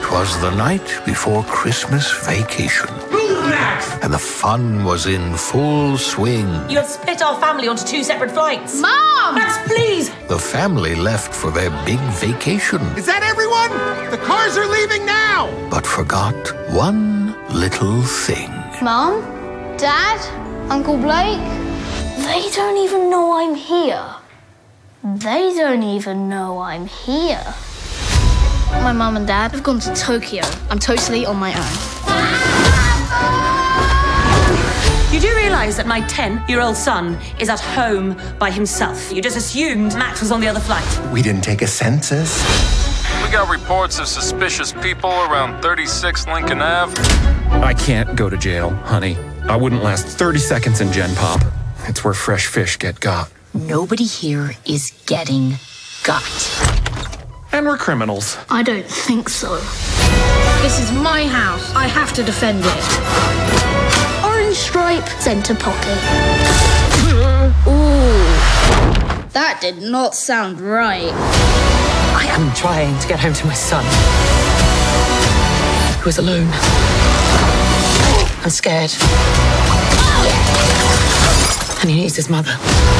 'Twas the night before Christmas vacation. Move, Max! And the fun was in full swing. You have split our family onto 2 separate flights. Mom! Max, please! The family left for their big vacation, Is that everyone? The cars are leaving now! but forgot one little thing. Mom? Dad? Uncle Blake? They don't even know I'm here. They don't even know I'm here. My mum and dad have gone to Tokyo. I'm totally on my own. You do realise that my 10-year-old son is at home by himself. You just assumed Max was on the other flight. We didn't take a census. We got reports of suspicious people around 36 Lincoln Ave. I can't go to jail, honey. I wouldn't last 30 seconds in Gen Pop. It's where fresh fish get got. Nobody here is getting got. And we're criminals. I don't think so. This is my house. I have to defend it. Orange stripe, centre pocket. Ooh. That did not sound right. I am trying to get home to my son, who is alone. I'm scared. And he needs his mother.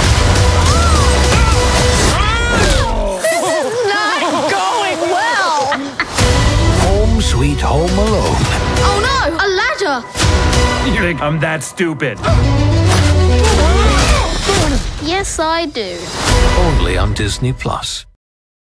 Home Sweet Home Alone. Oh no, a ladder! You think I'm that stupid? Yes, I do. Only on Disney Plus.